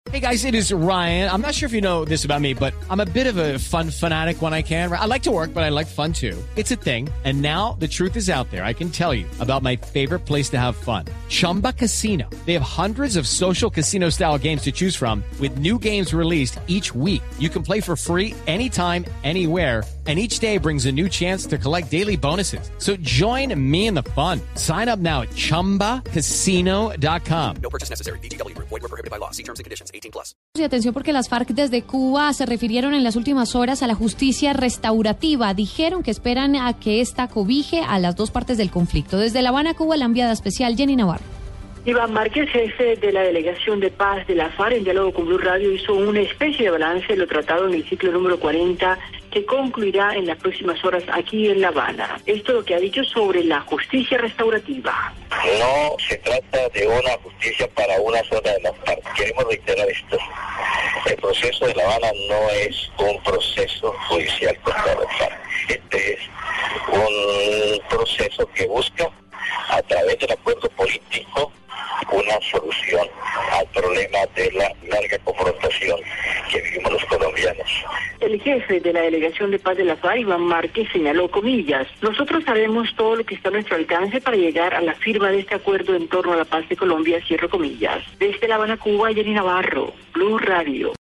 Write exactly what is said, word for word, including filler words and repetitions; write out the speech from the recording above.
Hey guys, it is Ryan. I'm not sure if you know this about me, but I'm a bit of a fun fanatic when I can. I like to work, but I like fun too. It's a thing. And now the truth is out there. I can tell you about my favorite place to have fun. Chumba Casino. They have hundreds of social casino style games to choose from with new games released each week. You can play for free anytime, anywhere. And each day brings a new chance to collect daily bonuses. So join me in the fun. Sign up now at chumba casino dot com. No purchase necessary. V G W. Void where prohibited by law. See terms and conditions. eighteen plus. Y atención porque las FARC desde Cuba se refirieron en las últimas horas a la justicia restaurativa. Dijeron que esperan a que esta cobije a las dos partes del conflicto. Desde La Habana, Cuba, la enviada especial Jenny Navarro. Iván Márquez, jefe de la Delegación de Paz de la FARC, en diálogo con Blue Radio, hizo una especie de balance de lo tratado en el ciclo número cuarenta, que concluirá en las próximas horas aquí en La Habana. Esto es lo que ha dicho sobre la justicia restaurativa. No se trata de una justicia para una zona de la FARC. Queremos reiterar esto. El proceso de La Habana no es un proceso judicial contra la FARC. Este es un proceso que busca, a través del acuerdo político, una solución al problema de la larga confrontación que vivimos los colombianos. El jefe de la Delegación de Paz de la FARC, Iván Márquez, señaló, comillas, nosotros haremos todo lo que está a nuestro alcance para llegar a la firma de este acuerdo en torno a la paz de Colombia, cierro comillas. Desde La Habana, Cuba, Jenny Navarro, Blue Radio.